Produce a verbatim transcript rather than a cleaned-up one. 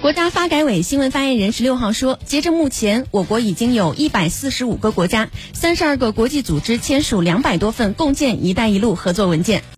国家发改委新闻发言人十六号说，截至目前，我国已经有一百四十五个国家、三十二个国际组织签署两百多份共建“一带一路”合作文件。